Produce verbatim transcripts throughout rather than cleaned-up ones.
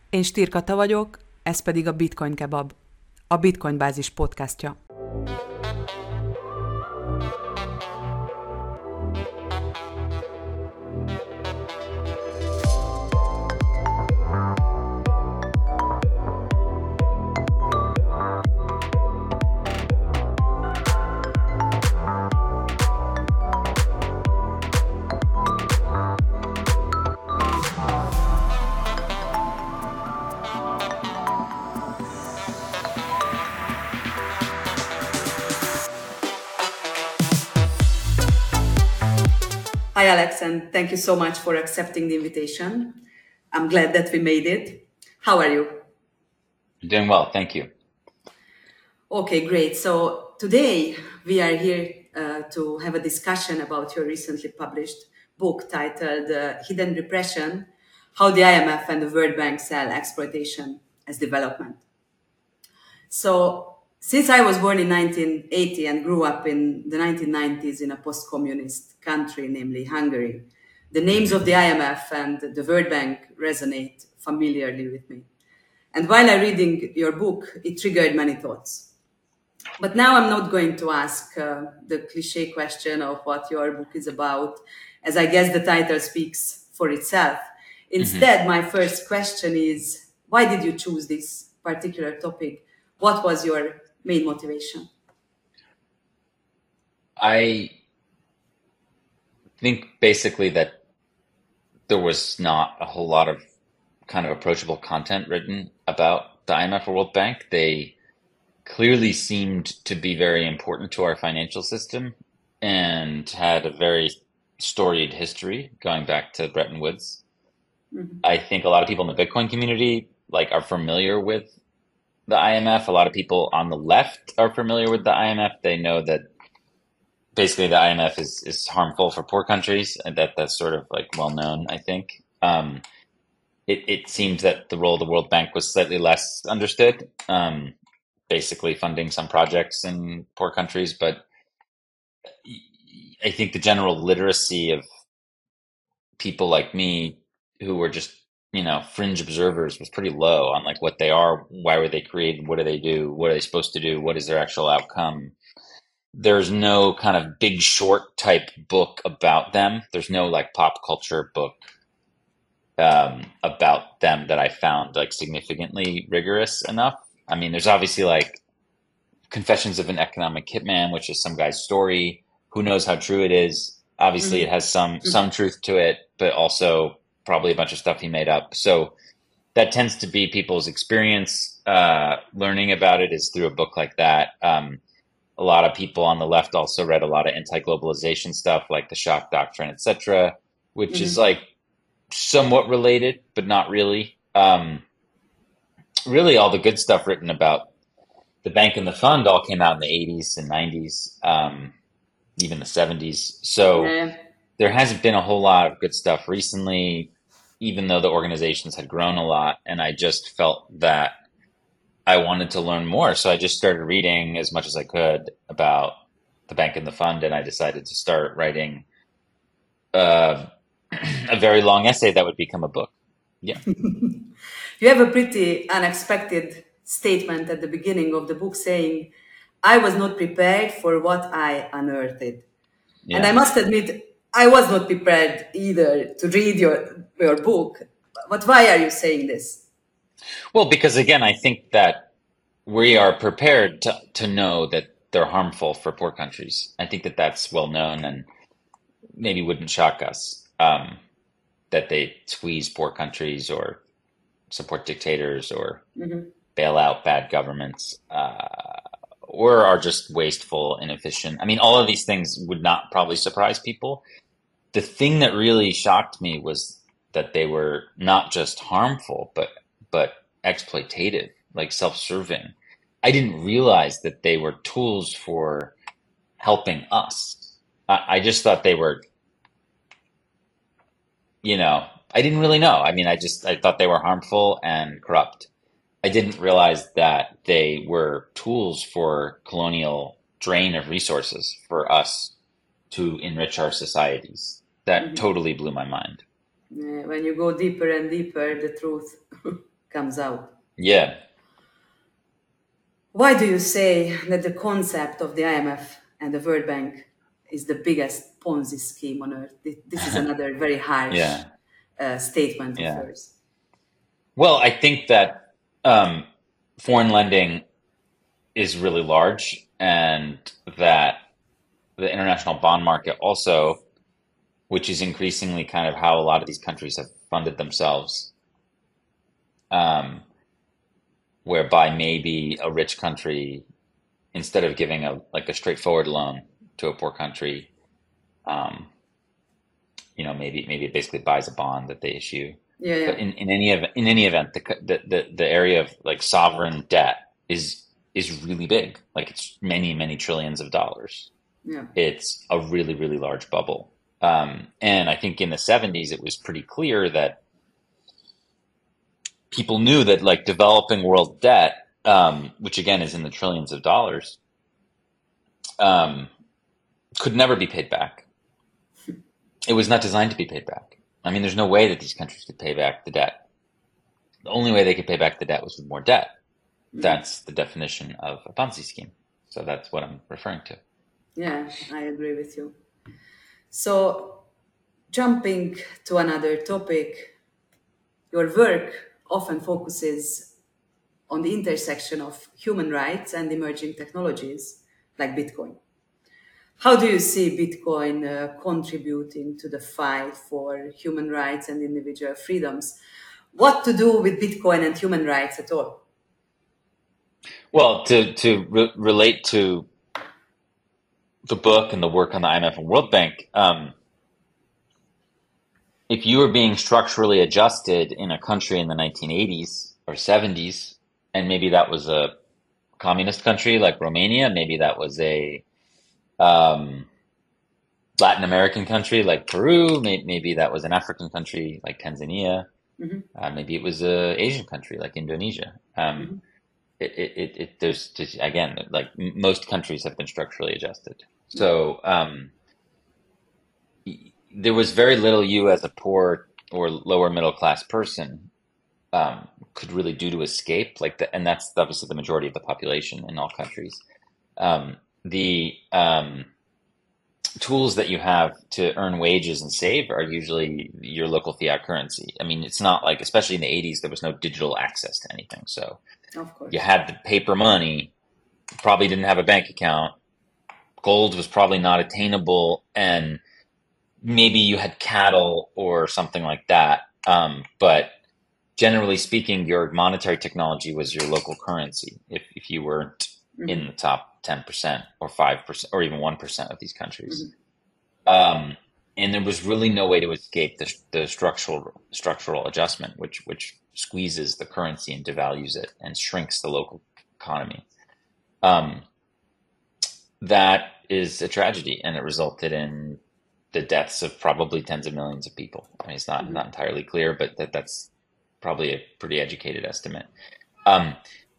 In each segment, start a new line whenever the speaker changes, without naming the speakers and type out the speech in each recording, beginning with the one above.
Én Stír Kata vagyok, ez pedig a Bitcoin Kebab, a Bitcoin Bázis podcastja.
Hi, Alex, and thank you so much for accepting the invitation. I'm glad that we made it. How are you?
Doing well, thank you.
Okay, great. So today we are here uh, to have a discussion about your recently published book titled uh, Hidden Repression, How the I M F and the World Bank Sell Exploitation as Development. So since I was born in nineteen eighty and grew up in the nineteen nineties in a post-communist country, namely Hungary, the names of the I M F and the World Bank resonate familiarly with me. And while I'm reading your book, it triggered many thoughts. But now I'm not going to ask uh, the cliche question of what your book is about, as I guess the title speaks for itself. Instead, mm-hmm. my first question is, why did you choose this particular topic? What was your main motivation?
I think basically that there was not a whole lot of kind of approachable content written about the I M F or World Bank. They clearly seemed to be very important to our financial system and had a very storied history going back to Bretton Woods. Mm-hmm. I think a lot of people in the Bitcoin community like are familiar with the I M F. A lot of people on the left are familiar with the I M F. They know that basically the I M F is, is harmful for poor countries, and that that's sort of like well known, I think. Um, it, it seems that the role of the World Bank was slightly less understood, um, basically funding some projects in poor countries. But I think the general literacy of people like me who were just you know, fringe observers was pretty low on like what they are, why were they created, what do they do, what are they supposed to do, what is their actual outcome. There's no kind of Big Short type book about them. There's no like pop culture book um, about them that I found like significantly rigorous enough. I mean, there's obviously like Confessions of an Economic Hitman, which is some guy's story. Who knows how true it is? Obviously, mm-hmm. it has some some truth to it, but also probably a bunch of stuff he made up. So that tends to be people's experience. Uh, learning about it is through a book like that. Um, a lot of people on the left also read a lot of anti-globalization stuff like the shock doctrine, et cetera, which mm-hmm. is like somewhat related, but not really. Um, really all the good stuff written about the bank and the fund all came out in the eighties and nineties, um, even the seventies. So yeah. There hasn't been a whole lot of good stuff recently, even though the organizations had grown a lot. And I just felt that I wanted to learn more. So I just started reading as much as I could about the bank and the fund. And I decided to start writing uh, a very long essay that would become a book. Yeah.
You have a pretty unexpected statement at the beginning of the book saying, I was not prepared for what I unearthed. Yeah. And I must admit, I was not prepared either to read your your book. But why are you saying this?
Well, because again, I think that we are prepared to, to know that they're harmful for poor countries. I think that that's well known and maybe wouldn't shock us um, that they squeeze poor countries or support dictators or mm-hmm. bail out bad governments uh, or are just wasteful, inefficient. I mean, all of these things would not probably surprise people. The thing that really shocked me was that they were not just harmful, but but exploitative, like self-serving. I didn't realize that they were tools for helping us. I, I just thought they were, you know, I didn't really know. I mean, I just, I thought they were harmful and corrupt. I didn't realize that they were tools for colonial drain of resources for us to enrich our societies. That mm-hmm. totally blew my mind.
Yeah, when you go deeper and deeper, the truth comes out.
Yeah.
Why do you say that the concept of the I M F and the World Bank is the biggest Ponzi scheme on earth? This is another very harsh
Yeah.
uh, statement of
Yeah.
yours.
Well, I think that um, foreign lending is really large, and that the international bond market also, which is increasingly kind of how a lot of these countries have funded themselves, um, whereby maybe a rich country, instead of giving a like a straightforward loan to a poor country, um, you know, maybe maybe it basically buys a bond that they issue.
Yeah, yeah.
But in, in any event, in any event, the, the the the area of like sovereign debt is is really big. Like it's many many trillions of dollars.
Yeah.
It's a really really large bubble. Um, and I think in the seventies it was pretty clear that people knew that like developing world debt, um, which again is in the trillions of dollars, um, could never be paid back. It was not designed to be paid back. I mean, there's no way that these countries could pay back the debt. The only way they could pay back the debt was with more debt. That's the definition of a Ponzi scheme. So that's what I'm referring to.
Yeah, I agree with you. So, jumping to another topic, your work often focuses on the intersection of human rights and emerging technologies like Bitcoin. How do you see Bitcoin uh, contributing to the fight for human rights and individual freedoms? What to do with Bitcoin and human rights at all?
Well, to to re- relate to the book and the work on the I M F and World Bank, um, if you were being structurally adjusted in a country in the nineteen eighties or seventies, and maybe that was a communist country like Romania, maybe that was a um, Latin American country like Peru, may- maybe that was an African country like Tanzania,
Mm-hmm.
uh, maybe it was a Asian country like Indonesia. Um,
Mm-hmm.
it, it, it, it there's just, again, like m- most countries have been structurally adjusted. So um, y- there was very little you as a poor or lower middle class person um, could really do to escape. Like the, and that's obviously the majority of the population in all countries. Um, the um, tools that you have to earn wages and save are usually your local fiat currency. I mean, it's not like, especially in the eighties, there was no digital access to anything. So
Of course.
you had the paper money, probably didn't have a bank account. Gold was probably not attainable, and maybe you had cattle or something like that. Um, but generally speaking, your monetary technology was your local currency if, if you weren't
Mm-hmm.
in the top ten percent or five percent or even one percent of these countries.
Mm-hmm.
Um, and there was really no way to escape the, the structural structural adjustment, which which squeezes the currency and devalues it and shrinks the local economy. Um, that is a tragedy, and it resulted in the deaths of probably tens of millions of people. I mean, it's not, mm-hmm. not entirely clear, but that, that's probably a pretty educated estimate. Um,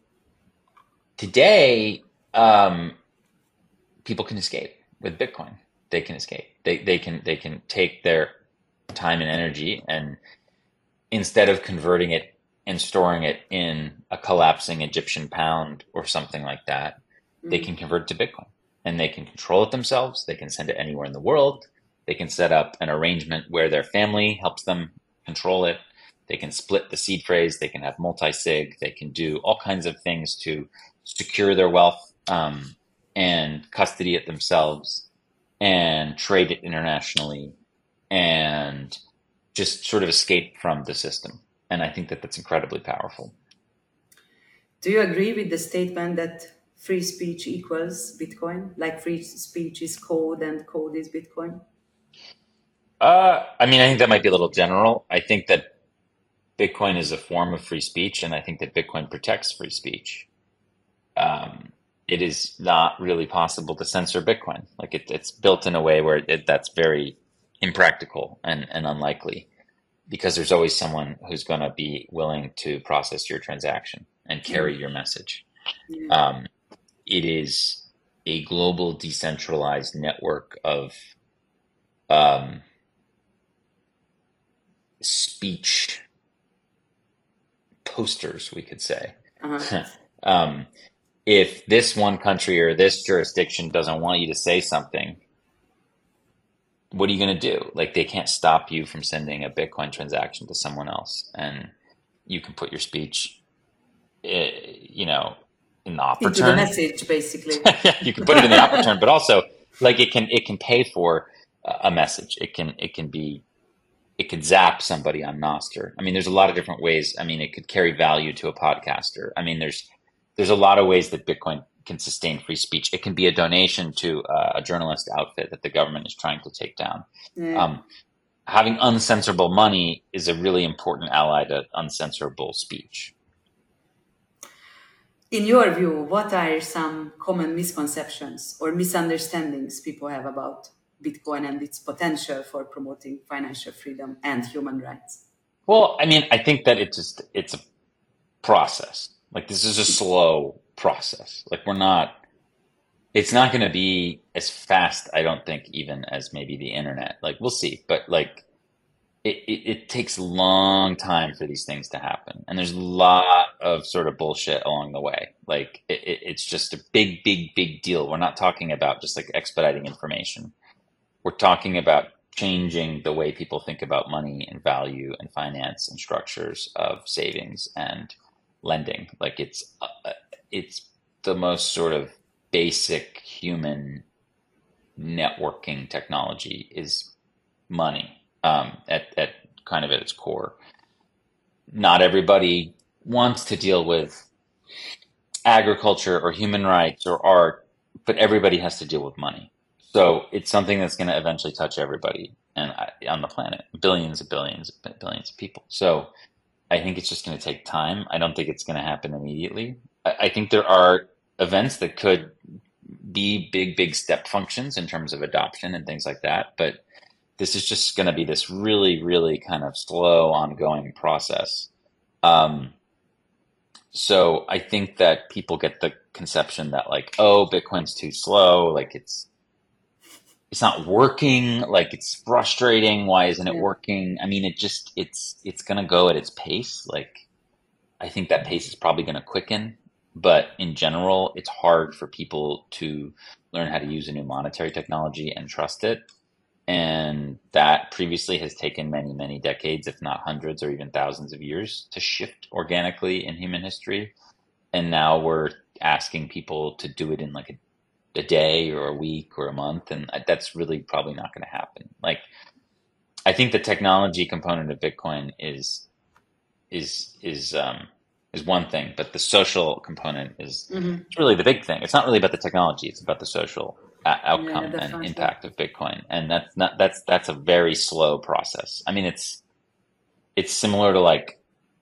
today, um, people can escape with Bitcoin. They can escape. They they can they can take their time and energy, and instead of converting it and storing it in a collapsing Egyptian pound or something like that, mm-hmm. they can convert it to Bitcoin, and they can control it themselves. They can send it anywhere in the world. They can set up an arrangement where their family helps them control it. They can split the seed phrase. They can have multi-sig. They can do all kinds of things to secure their wealth um, and custody it themselves and trade it internationally and just sort of escape from the system. And I think that that's incredibly powerful.
Do you agree with the statement that free speech equals Bitcoin? Like free speech is code and code is Bitcoin?
Uh, I mean, I think that might be a little general. I think that Bitcoin is a form of free speech, and I think that Bitcoin protects free speech. Um, it is not really possible to censor Bitcoin. Like it, it's built in a way where it, that's very impractical and, and unlikely, because there's always someone who's going to be willing to process your transaction and carry your message.
Yeah.
Um, it is a global decentralized network of um, speech posters, we could say.
Uh-huh.
um, if this one country or this jurisdiction doesn't want you to say something, what are you going to do? Like, they can't stop you from sending a Bitcoin transaction to someone else, and you can put your speech, uh, you know, in the upper
Into
turn.
the message, basically.
Yeah, you can put it in the upper turn, but also like it can it can pay for a message. It can it can be it could zap somebody on Nostr. I mean, there's a lot of different ways. I mean, it could carry value to a podcaster. I mean, there's there's a lot of ways that Bitcoin can sustain free speech. It can be a donation to uh, a journalist outfit that the government is trying to take down.
Yeah.
Um, having uncensorable money is a really important ally to uncensorable speech.
In your view, what are some common misconceptions or misunderstandings people have about Bitcoin and its potential for promoting financial freedom and human rights?
Well, I mean, I think that it's just it's a process. Like, this is a slow process. Like, we're not, it's not going to be as fast, I don't think, even as maybe the internet. Like, we'll see. But like, it, it, it takes a long time for these things to happen. And there's a lot of sort of bullshit along the way. Like, it, it, it's just a big, big, big deal. We're not talking about just like expediting information. We're talking about changing the way people think about money and value and finance and structures of savings and lending. Like, it's uh, it's the most sort of basic human networking technology is money, um, at, at kind of at its core. Not everybody wants to deal with agriculture or human rights or art, but everybody has to deal with money. So it's something that's going to eventually touch everybody and on the planet, billions and billions and billions of people. So I think it's just going to take time. I don't think it's going to happen immediately. I, I think there are events that could be big, big step functions in terms of adoption and things like that. But this is just going to be this really, really kind of slow, ongoing process. Um, so I think that people get the conception that like, oh, Bitcoin's too slow. Like, it's, it's not working. Like, it's frustrating. Why isn't it
Yeah.
working? I mean, it just, it's, it's going to go at its pace. Like, I think that pace is probably going to quicken, but in general, it's hard for people to learn how to use a new monetary technology and trust it. And that previously has taken many, many decades, if not hundreds or even thousands of years to shift organically in human history. And now we're asking people to do it in like a a day or a week or a month. And that's really probably not going to happen. Like, I think the technology component of Bitcoin is, is, is, um, is one thing, but the social component is
Mm-hmm.
it's really the big thing. It's not really about the technology. It's about the social uh, outcome
Yeah,
and
definitely.
impact of Bitcoin. And that's not, that's, that's a very slow process. I mean, it's, it's similar to like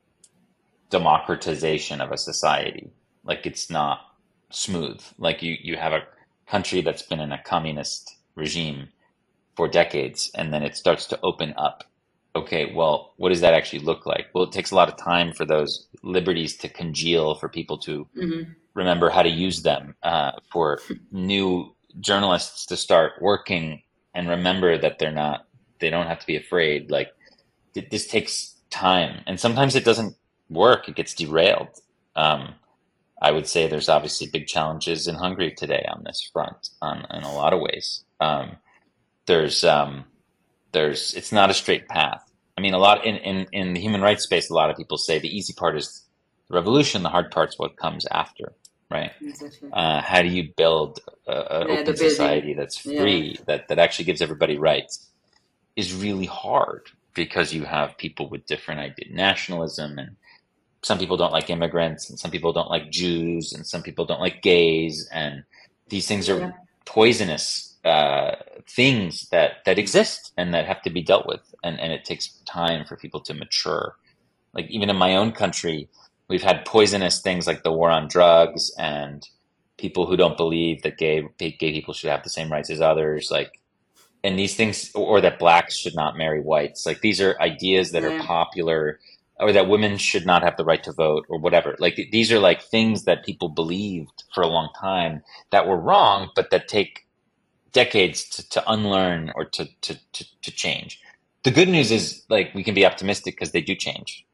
democratization of a society. Like, it's not smooth. Like, you, you have a country that's been in a communist regime for decades, and then it starts to open up. Okay, well, what does that actually look like? Well, it takes a lot of time for those liberties to congeal, for people to
Mm-hmm.
remember how to use them, uh, for new journalists to start working and remember that they're not, they don't have to be afraid. Like, th- this takes time, and sometimes it doesn't work. It gets derailed. Um, I would say there's obviously big challenges in Hungary today on this front, on, in a lot of ways. Um, there's, um, there's, it's not a straight path. I mean, a lot in, in, in the human rights space, a lot of people say the easy part is the revolution, the hard part's what comes after, right?
Exactly.
Uh, how do you build a, a
Yeah, the
open
building.
society that's free,
Yeah.
that, that actually gives everybody rights, is really hard, because you have people with different idea, nationalism, and some people don't like immigrants, and some people don't like Jews, and some people don't like gays, and these things are
Yeah.
poisonous uh, things that that exist and that have to be dealt with, and and it takes time for people to mature. Like, even in my own country, we've had poisonous things like the war on drugs, and people who don't believe that gay gay people should have the same rights as others, like, and these things, or that blacks should not marry whites. Like, these are ideas that
Yeah.
are popular, or that women should not have the right to vote, or whatever. Like, these are like things that people believed for a long time that were wrong, but that take decades to, to unlearn or to, to, to, to change. The good news is, like, we can be optimistic because they do change.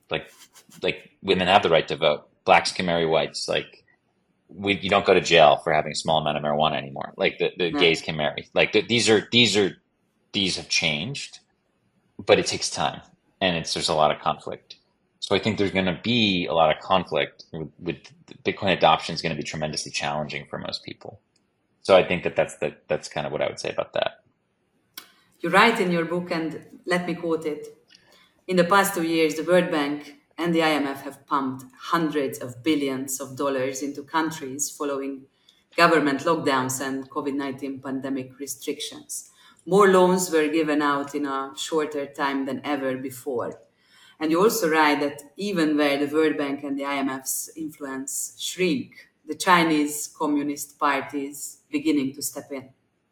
like like women have the right to vote. Blacks can marry whites. Like we, you don't go to jail for having a small amount of marijuana anymore. Like the, the
Yeah.
gays can marry. Like the, these are these are these have changed, but it takes time, and it's there's a lot of conflict. So I think there's going to be a lot of conflict with, with Bitcoin adoption is going to be tremendously challenging for most people. So I think that that's the, that's kind of what I would say about that.
You write in your book, and let me quote it. In the past two years, the World Bank and the I M F have pumped hundreds of billions of dollars into countries following government lockdowns and COVID nineteen pandemic restrictions. More loans were given out in a shorter time than ever before. And you also write that even where the World Bank and the I M F's influence shrink, the Chinese Communist Party is beginning to step in.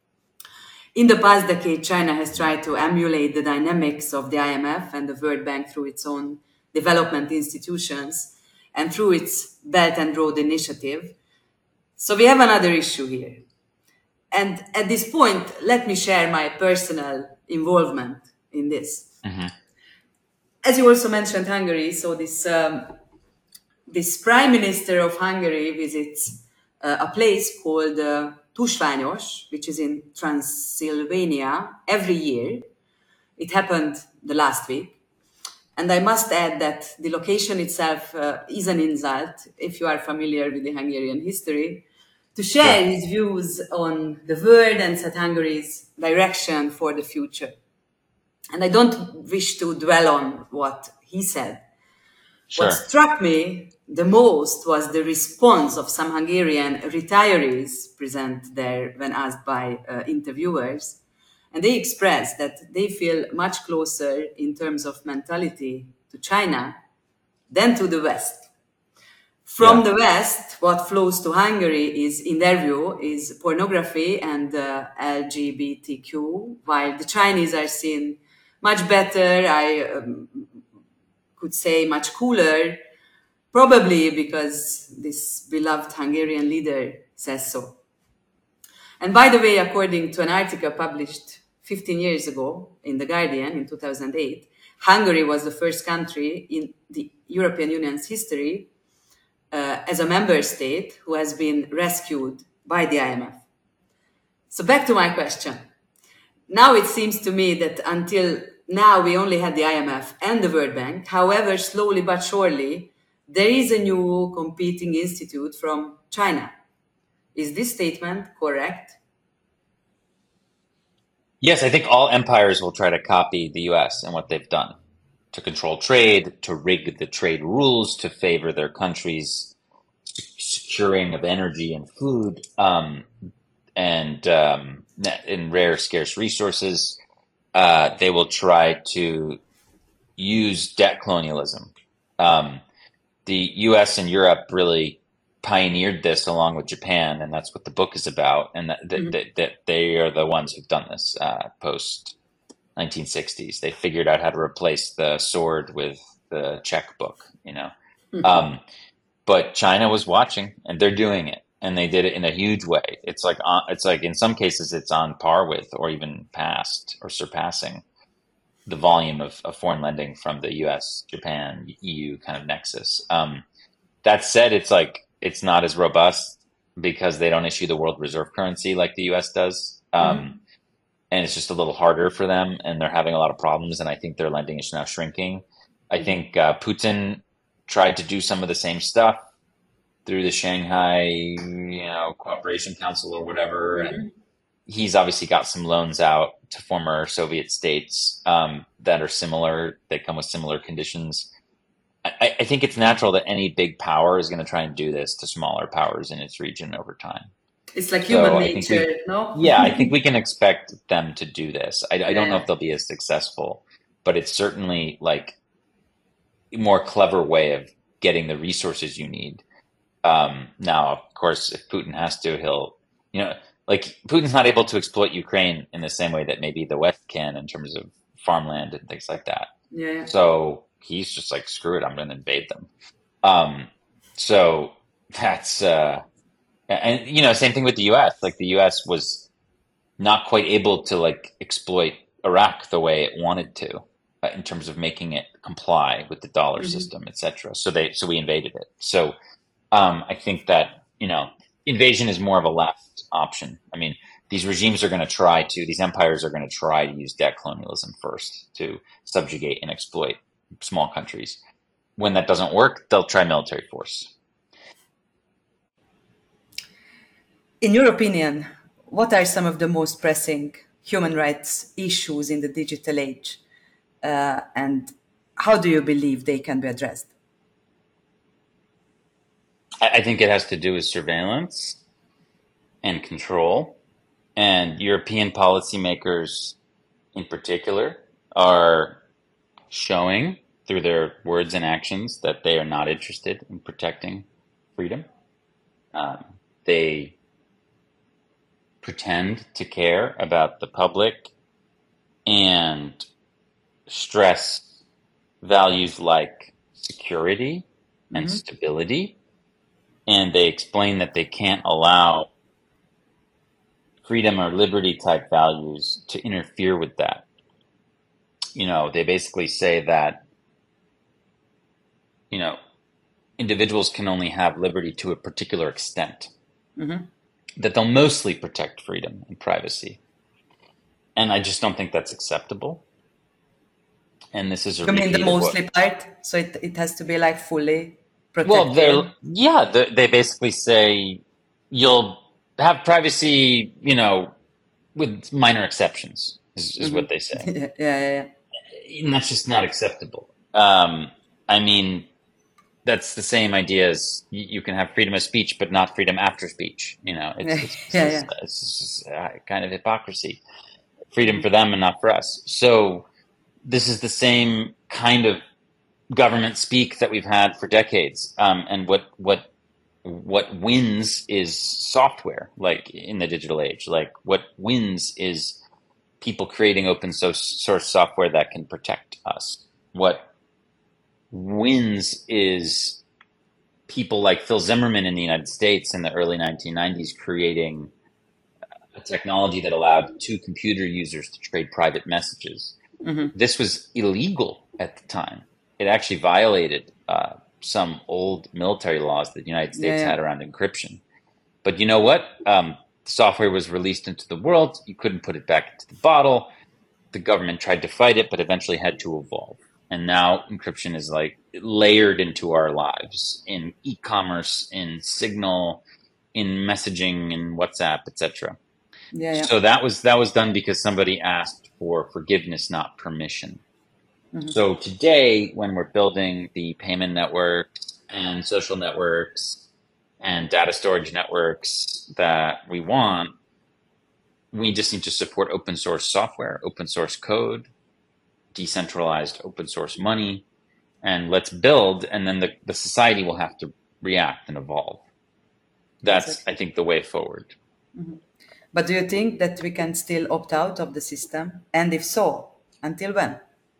In the past decade, China has tried to emulate the dynamics of the I M F and the World Bank through its own development institutions and through its Belt and Road Initiative. So we have another issue here. And at this point, let me share my personal involvement in this.
Mm-hmm.
As you also mentioned Hungary, so this um, this Prime Minister of Hungary visits uh, a place called uh, Tusványos, which is in Transylvania, every year. It happened the last week. And I must add that the location itself uh, is an insult, if you are familiar with the Hungarian history, to share
Sure.
his views on the world and set Hungary's direction for the future. And I don't wish to dwell on what he said.
Sure.
What struck me the most was the response of some Hungarian retirees present there when asked by uh, interviewers. And they expressed that they feel much closer in terms of mentality to China than to the West. From
Yeah.
the West, what flows to Hungary is, in their view, is pornography and uh, L G B T Q, while the Chinese are seen much better, I um, could say much cooler, probably because this beloved Hungarian leader says so. And by the way, according to an article published fifteen years ago in The Guardian in two thousand eight, Hungary was the first country in the European Union's history uh, as a member state who has been rescued by the I M F. So back to my question. Now it seems to me that until now we only had the I M F and the World Bank. However, slowly but surely, there is a new competing institute from China. Is this statement correct?
Yes, I think all empires will try to copy the U S and what they've done to control trade, to rig the trade rules, to favor their country's securing of energy and food, um, and um, in rare, scarce resources. Uh, they will try to use debt colonialism. Um, the U S and Europe really pioneered this along with Japan, and that's what the book is about. And that that, mm-hmm. that, that they are the ones who've done this uh, post nineteen sixties. They figured out how to replace the sword with the checkbook, you know. Mm-hmm. Um, but China was watching, and they're doing it, and they did it in a huge way. It's like on, it's like in some cases it's on par with, or even past, or surpassing the volume of, of foreign lending from the U S, Japan, E U kind of nexus. Um, that said, it's like it's not as robust because they don't issue the world reserve currency like the U S does. Um, mm-hmm. And it's just a little harder for them, and they're having a lot of problems. And I think their lending is now shrinking. I think uh, Putin tried to do some of the same stuff through the Shanghai, you know, Cooperation Council or whatever. Mm-hmm. And he's obviously got some loans out to former Soviet states um, that are similar, that come with similar conditions. I, I think it's natural that any big power is going to try and do this to smaller powers in its region over time.
It's like human
so
nature,
we,
no?
Yeah, I think we can expect them to do this. I, I don't
yeah.
know if they'll be as successful, but it's certainly like a more clever way of getting the resources you need. Um, now, of course, if Putin has to, he'll, you know, like Putin's not able to exploit Ukraine in the same way that maybe the West can in terms of farmland and things like that.
Yeah.
So he's just like, screw it, I'm going to invade them. Um, so that's, uh, and, you know, same thing with the U S. Like the U S was not quite able to like exploit Iraq the way it wanted to. uh, in terms of making it comply with the dollar
Mm-hmm.
system, et cetera. So they, so we invaded it. So um, I think that, you know, invasion is more of a last option. I mean, these regimes are going to try to, these empires are going to try to use debt colonialism first to subjugate and exploit small countries. When that doesn't work, they'll try military force.
In your opinion, what are some of the most pressing human rights issues in the digital age? Uh, and how do you believe they can be addressed?
I, I think it has to do with surveillance and control. And European policymakers in particular are showing through their words and actions that they are not interested in protecting freedom. Um, they pretend to care about the public and stress values like security and
Mm-hmm.
stability. And they explain that they can't allow freedom or liberty type values to interfere with that. You know, they basically say that, you know, individuals can only have liberty to a particular extent,
Mm-hmm.
that they'll mostly protect freedom and privacy. And I just don't think that's acceptable. And this is a
You mean the
repeat of what-
mostly part? So it, it has to be like fully protected?
Well, they're yeah. They, they basically say you'll have privacy, you know, with minor exceptions. Is, is what they say,
yeah, yeah, yeah.
and that's just not acceptable. Um, I mean, that's the same idea as you, you can have freedom of speech, but not freedom after speech. You know, it's it's,
Yeah,
it's,
yeah.
it's just, uh, kind of hypocrisy. Freedom for them and not for us. So this is the same kind of government speak that we've had for decades. Um, and what what what wins is software, like in the digital age. Like what wins is people creating open source software that can protect us. What wins is people like Phil Zimmerman in the United States in the early nineteen nineties creating a technology that allowed two computer users to trade private messages.
Mm-hmm.
This was illegal at the time. It actually violated uh, some old military laws that the United States
Yeah, yeah.
had around encryption. But you know what? Um, the software was released into the world. You couldn't put it back into the bottle. The government tried to fight it, but eventually had to evolve. And now encryption is like layered into our lives in e-commerce, in Signal, in messaging, in WhatsApp, et cetera.
Yeah, yeah.
So that was that was done because somebody asked for forgiveness, not permission.
Mm-hmm.
So today, when we're building the payment networks and social networks and data storage networks that we want, we just need to support open source software, open source code, decentralized open source money, and let's build, and then the, the society will have to react and evolve. That's,
Exactly.
I think, the way forward.
Mm-hmm. But do you think that we can still opt out of the system? And if so, until when?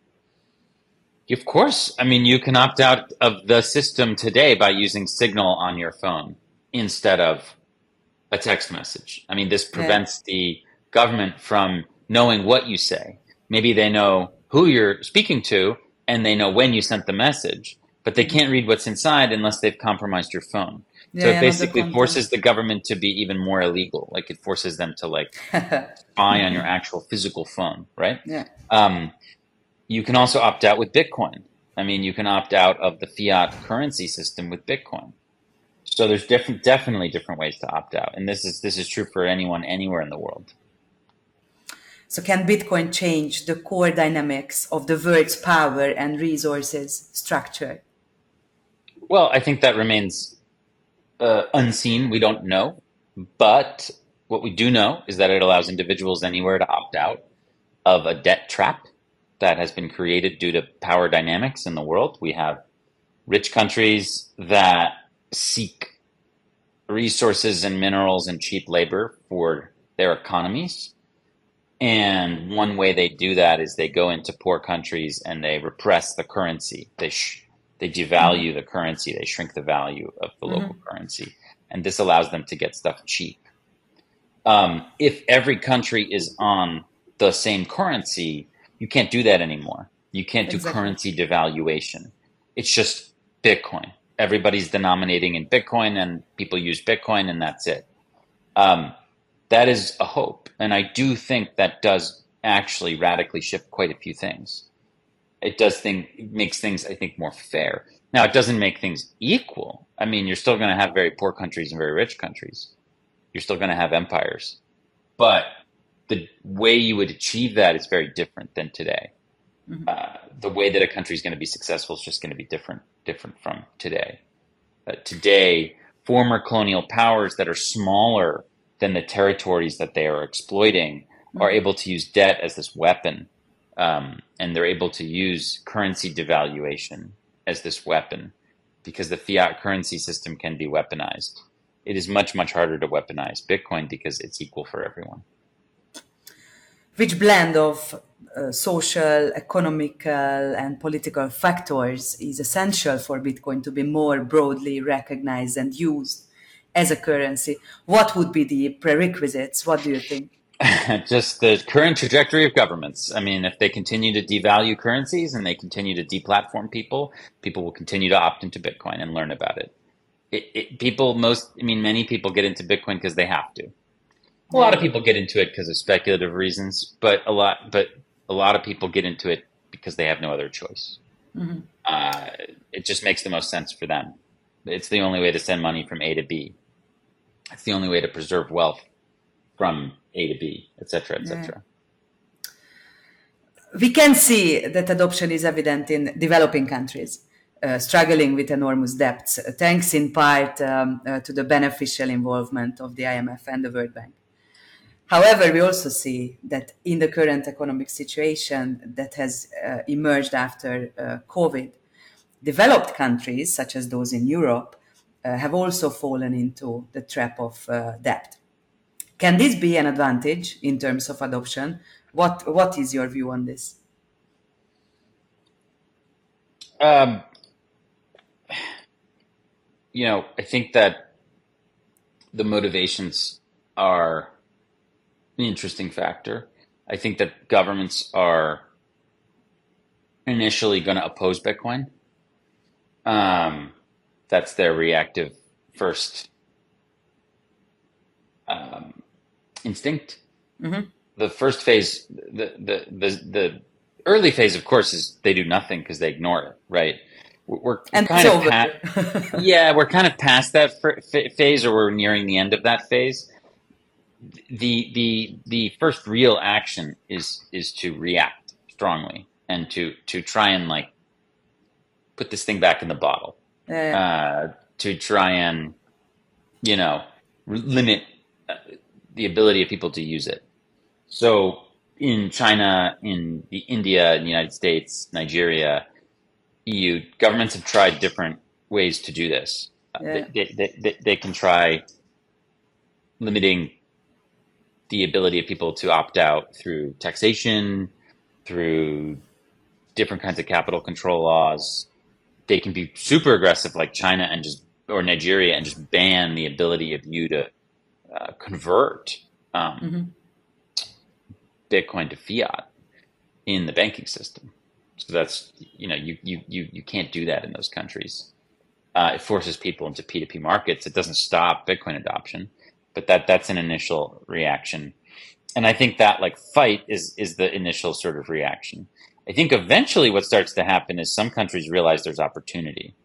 Of course. I mean, you can opt out of the system today by using Signal on your phone instead of a text message. I mean, this prevents yeah. the government from knowing what you say. Maybe they know who you're speaking to and they know when you sent the message, but they can't read what's inside unless they've compromised your phone. Yeah, so it basically forces the government to be even more illegal. Like it forces them to like spy on your actual physical phone, right?
Yeah.
Um, you can also opt out with Bitcoin. I mean, you can opt out of the fiat currency system with Bitcoin. So there's different, definitely different ways to opt out, and this is this is true for anyone anywhere in the world.
So can Bitcoin change the core dynamics of the world's power and resources structure?
Well, I think that remains uh, unseen. We don't know, but what we do know is that it allows individuals anywhere to opt out of a debt trap that has been created due to power dynamics in the world. We have rich countries that seek resources and minerals and cheap labor for their economies. And one way they do that is they go into poor countries and they repress the currency. They sh- they devalue mm-hmm. the currency. They shrink the value of the mm-hmm. local currency. And this allows them to get stuff cheap. Um, if every country is on the same currency, you can't do that anymore. You can't do
Exactly.
currency devaluation. It's just Bitcoin. Everybody's denominating in Bitcoin and people use Bitcoin and that's it. Um, that is a hope. And I do think that does actually radically shift quite a few things. It does thing, it makes things, I think, more fair. Now, it doesn't make things equal. I mean, you're still going to have very poor countries and very rich countries. You're still going to have empires. But the way you would achieve that is very different than today. Mm-hmm. Uh, the way that a country is going to be successful is just going to be different, different from today. Uh, today, former colonial powers that are smaller than the territories that they are exploiting mm-hmm. are able to use debt as this weapon. Um, and they're able to use currency devaluation as this weapon because the fiat currency system can be weaponized. It is much, much harder to weaponize Bitcoin because it's equal for everyone.
Which blend of uh, social, economical, and political factors is essential for Bitcoin to be more broadly recognized and used as a currency? What would be the prerequisites? What do you think?
Just the current trajectory of governments. I mean, if they continue to devalue currencies and they continue to deplatform people, people will continue to opt into Bitcoin and learn about it. It, it people, most, I mean, many people get into Bitcoin because they have to. A lot of people get into it because of speculative reasons, but a lot, but a lot of people get into it because they have no other choice. Mm-hmm. Uh, it just makes the most sense for them. It's the only way to send money from A to B. It's the only way to preserve wealth from A to B, et cetera, et cetera.
Yeah. We can see that adoption is evident in developing countries, uh, struggling with enormous debts, thanks in part um, uh, to the beneficial involvement of the I M F and the World Bank. However, we also see that in the current economic situation that has uh, emerged after uh, COVID, developed countries, such as those in Europe, uh, have also fallen into the trap of uh, debt. Can this be an advantage in terms of adoption? What What is your view on this?
Um, you know, I think that the motivations are an interesting factor. I think that governments are initially going to oppose Bitcoin. Um, that's their reactive first um, instinct. Mm-hmm. The first phase, the, the the the early phase, of course, is they do nothing because they ignore it, right? We're
and
kind of pa- yeah, we're kind of past that f- phase, or we're nearing the end of that phase. The the the first real action is is to react strongly and to to try and like put this thing back in the bottle. Yeah. Uh, to try and you know limit the ability of people to use it. So in China, in the India, in the United States, Nigeria, E U, governments have tried different ways to do this. Yeah. They, they, they, they can try limiting the ability of people to opt out through taxation, through different kinds of capital control laws. They can be super aggressive like China and just or Nigeria and just ban the ability of you to uh, convert um, mm-hmm. Bitcoin to fiat in the banking system. So that's, you know, you, you, you, you can't do that in those countries. Uh, it forces people into P two P markets. It doesn't stop Bitcoin adoption, but that that's an initial reaction. And I think that like fight is, is the initial sort of reaction. I think eventually what starts to happen is some countries realize there's opportunity.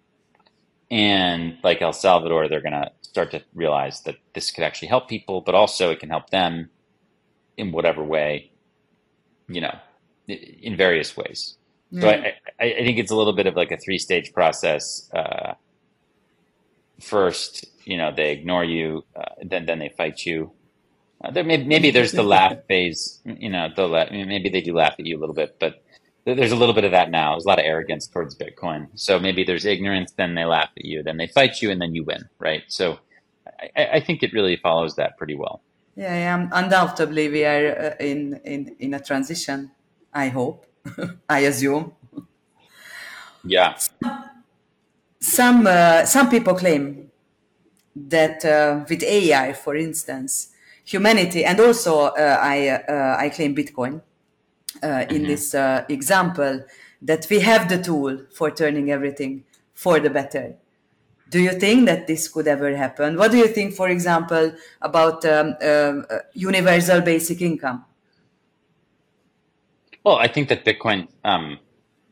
And like El Salvador, they're going to start to realize that this could actually help people, but also it can help them in whatever way, you know, in various ways. Mm. So I, I, I think it's a little bit of like a three-stage process. Uh, first, you know, they ignore you, uh, then then they fight you. Uh, there may, maybe there's the laugh phase, you know, the la- maybe they do laugh at you a little bit, but there's a little bit of that now. There's a lot of arrogance towards Bitcoin. So maybe there's ignorance, then they laugh at you, then they fight you, and then you win, right? So I, I think it really follows that pretty well.
Yeah, yeah, undoubtedly we are uh, in, in, in a transition, I hope, I assume.
Yeah.
Some, uh, some people claim that uh, with A I, for instance, humanity, and also uh, I, uh, I claim Bitcoin, Uh, in mm-hmm. this uh, example, that we have the tool for turning everything for the better. Do you think that this could ever happen? What do you think, for example, about um, um, uh, universal basic income?
Well, I think that Bitcoin um,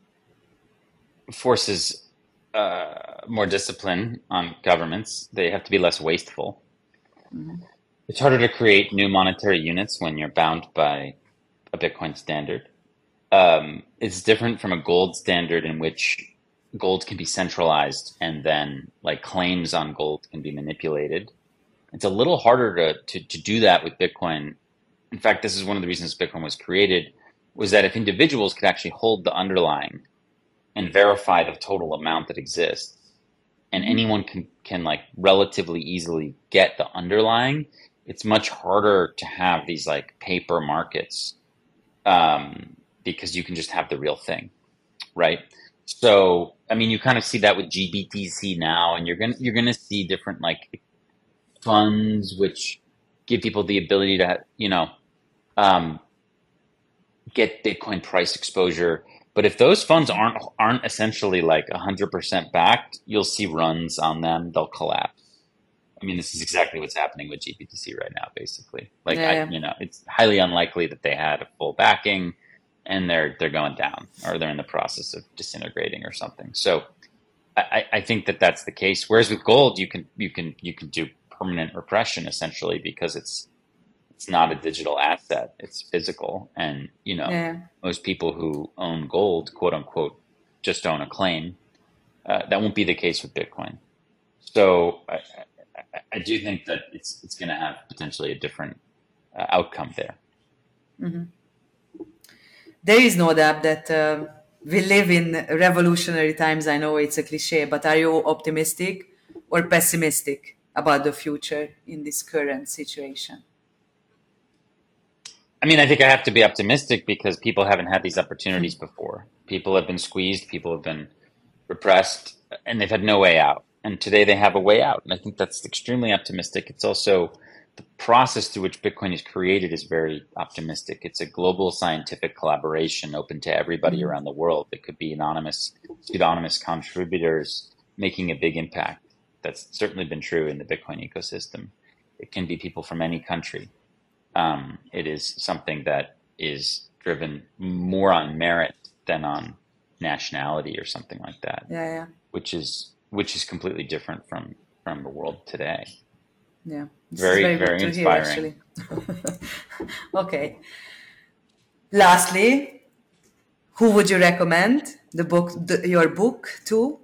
forces uh, more discipline on governments. They have to be less wasteful. Mm-hmm. It's harder to create new monetary units when you're bound by a Bitcoin standard. Um, it's different from a gold standard in which gold can be centralized and then like claims on gold can be manipulated. It's a little harder to, to, to do that with Bitcoin. In fact, this is one of the reasons Bitcoin was created, was that if individuals could actually hold the underlying and verify the total amount that exists, and anyone can, can like relatively easily get the underlying, it's much harder to have these like paper markets um, because you can just have the real thing, right? So, I mean, you kind of see that with G B T C now, and you're gonna you're gonna see different like funds which give people the ability to, you know, um, get Bitcoin price exposure. But if those funds aren't aren't essentially like one hundred percent backed, you'll see runs on them. They'll collapse. I mean, this is exactly what's happening with G B T C right now, basically. Like,
yeah.
I, you know, it's highly unlikely that they had a full backing, and they're they're going down, or they're in the process of disintegrating or something. So, I, I think that that's the case. Whereas with gold, you can you can you can do permanent repression essentially because it's it's not a digital asset; it's physical, and you know,
yeah.
most people who own gold, quote unquote, just own a claim. Uh, that won't be the case with Bitcoin. So. I, I do think that it's it's going to have potentially a different uh, outcome there.
Mm-hmm. There is no doubt that uh, we live in revolutionary times. I know it's a cliche, but are you optimistic or pessimistic about the future in this current situation?
I mean, I think I have to be optimistic because people haven't had these opportunities before. People have been squeezed, people have been repressed, and they've had no way out. And today they have a way out. And I think that's extremely optimistic. It's also the process through which Bitcoin is created is very optimistic. It's a global scientific collaboration open to everybody around the world. It could be anonymous, pseudonymous contributors making a big impact. That's certainly been true in the Bitcoin ecosystem. It can be people from any country. Um, it is something that is driven more on merit than on nationality or something like that.
Yeah, yeah.
Which is which is completely different from from the world today.
Yeah, this
very
is very,
very
good to
inspiring.
Hear, actually. Okay. Lastly, who would you recommend the book, the, your book to?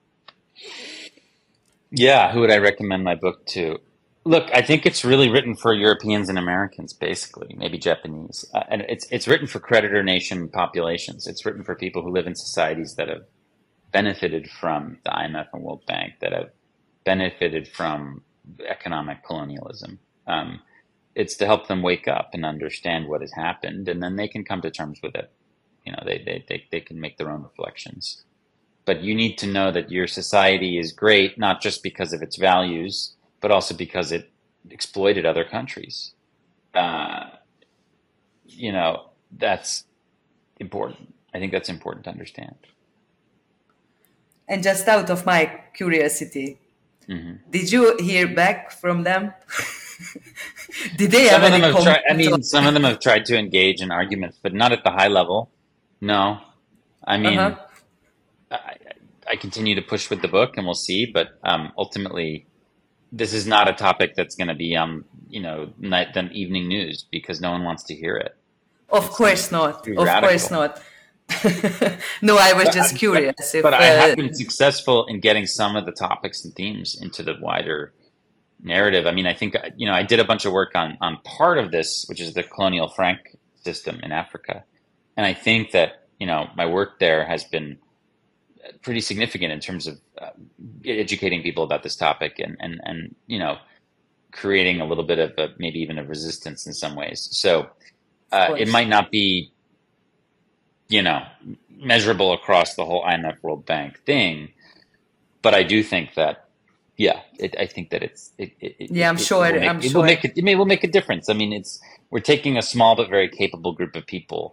Yeah, who would I recommend my book to? Look, I think it's really written for Europeans and Americans, basically, maybe Japanese, uh, and it's it's written for creditor nation populations. It's written for people who live in societies that have benefited from the I M F and World Bank, that have benefited from economic colonialism. Um, it's to help them wake up and understand what has happened, and then they can come to terms with it. You know, they they they, they can make their own reflections. But you need to know that your society is great, not just because of its values, but also because it exploited other countries. Uh, you know, that's important. I think that's important to understand.
And just out of my curiosity,
mm-hmm.
did you hear back from them? Did they
some
have
of them
any
have tried, I mean,
on-
some of them have tried to engage in arguments, but not at the high level. No. I mean, uh-huh. I, I continue to push with the book, and we'll see. But um, ultimately, this is not a topic that's going to be on, you know, night then evening news because no one wants to hear it.
Of
it's
course not. Of
radical.
course not. No, I was
but,
just curious.
But,
if,
but I
uh,
have been successful in getting some of the topics and themes into the wider narrative. I mean, I think, you know, I did a bunch of work on on part of this, which is the colonial franc system in Africa. And I think that, you know, my work there has been pretty significant in terms of uh, educating people about this topic and, and, and, you know, creating a little bit of a, maybe even a resistance in some ways. So uh, it might not be, you know, measurable across the whole I M F World Bank thing, but I do think that, yeah, it, I think that it's, it, it,
yeah, I'm
it,
sure.
It will make,
I'm
it
sure.
will make it, it may, will make a difference. I mean, it's, we're taking a small but very capable group of people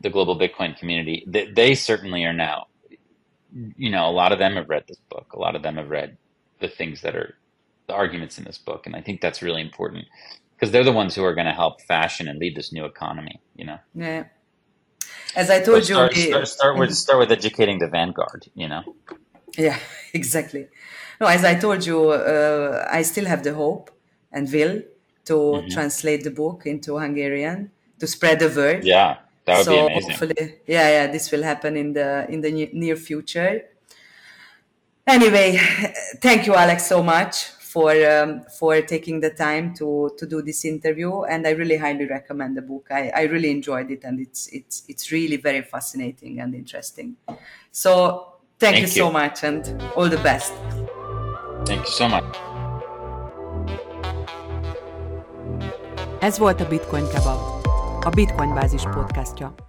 the global Bitcoin community, they, they certainly are now, you know, a lot of them have read this book. A lot of them have read the things that are the arguments in this book. And I think that's really important because they're the ones who are going to help fashion and lead this new economy, you know?
Yeah. As I told
so start,
you,
start, start with start with educating the vanguard, you know.
Yeah, exactly. No, as I told you, uh, I still have the hope and will to mm-hmm. translate the book into Hungarian to spread the word.
Yeah, that would
so
be amazing.
Hopefully, yeah, yeah, this will happen in the in the near future. Anyway, thank you, Alex, so much for um, for taking the time to to do this interview, and I really highly recommend the book. I, I really enjoyed it, and it's it's it's really very fascinating and interesting. So thank, thank you, you so much, and all the best.
Thank you so much.
Ez volt a Bitcoin Kebab, a Bitcoin Bázis podcastja.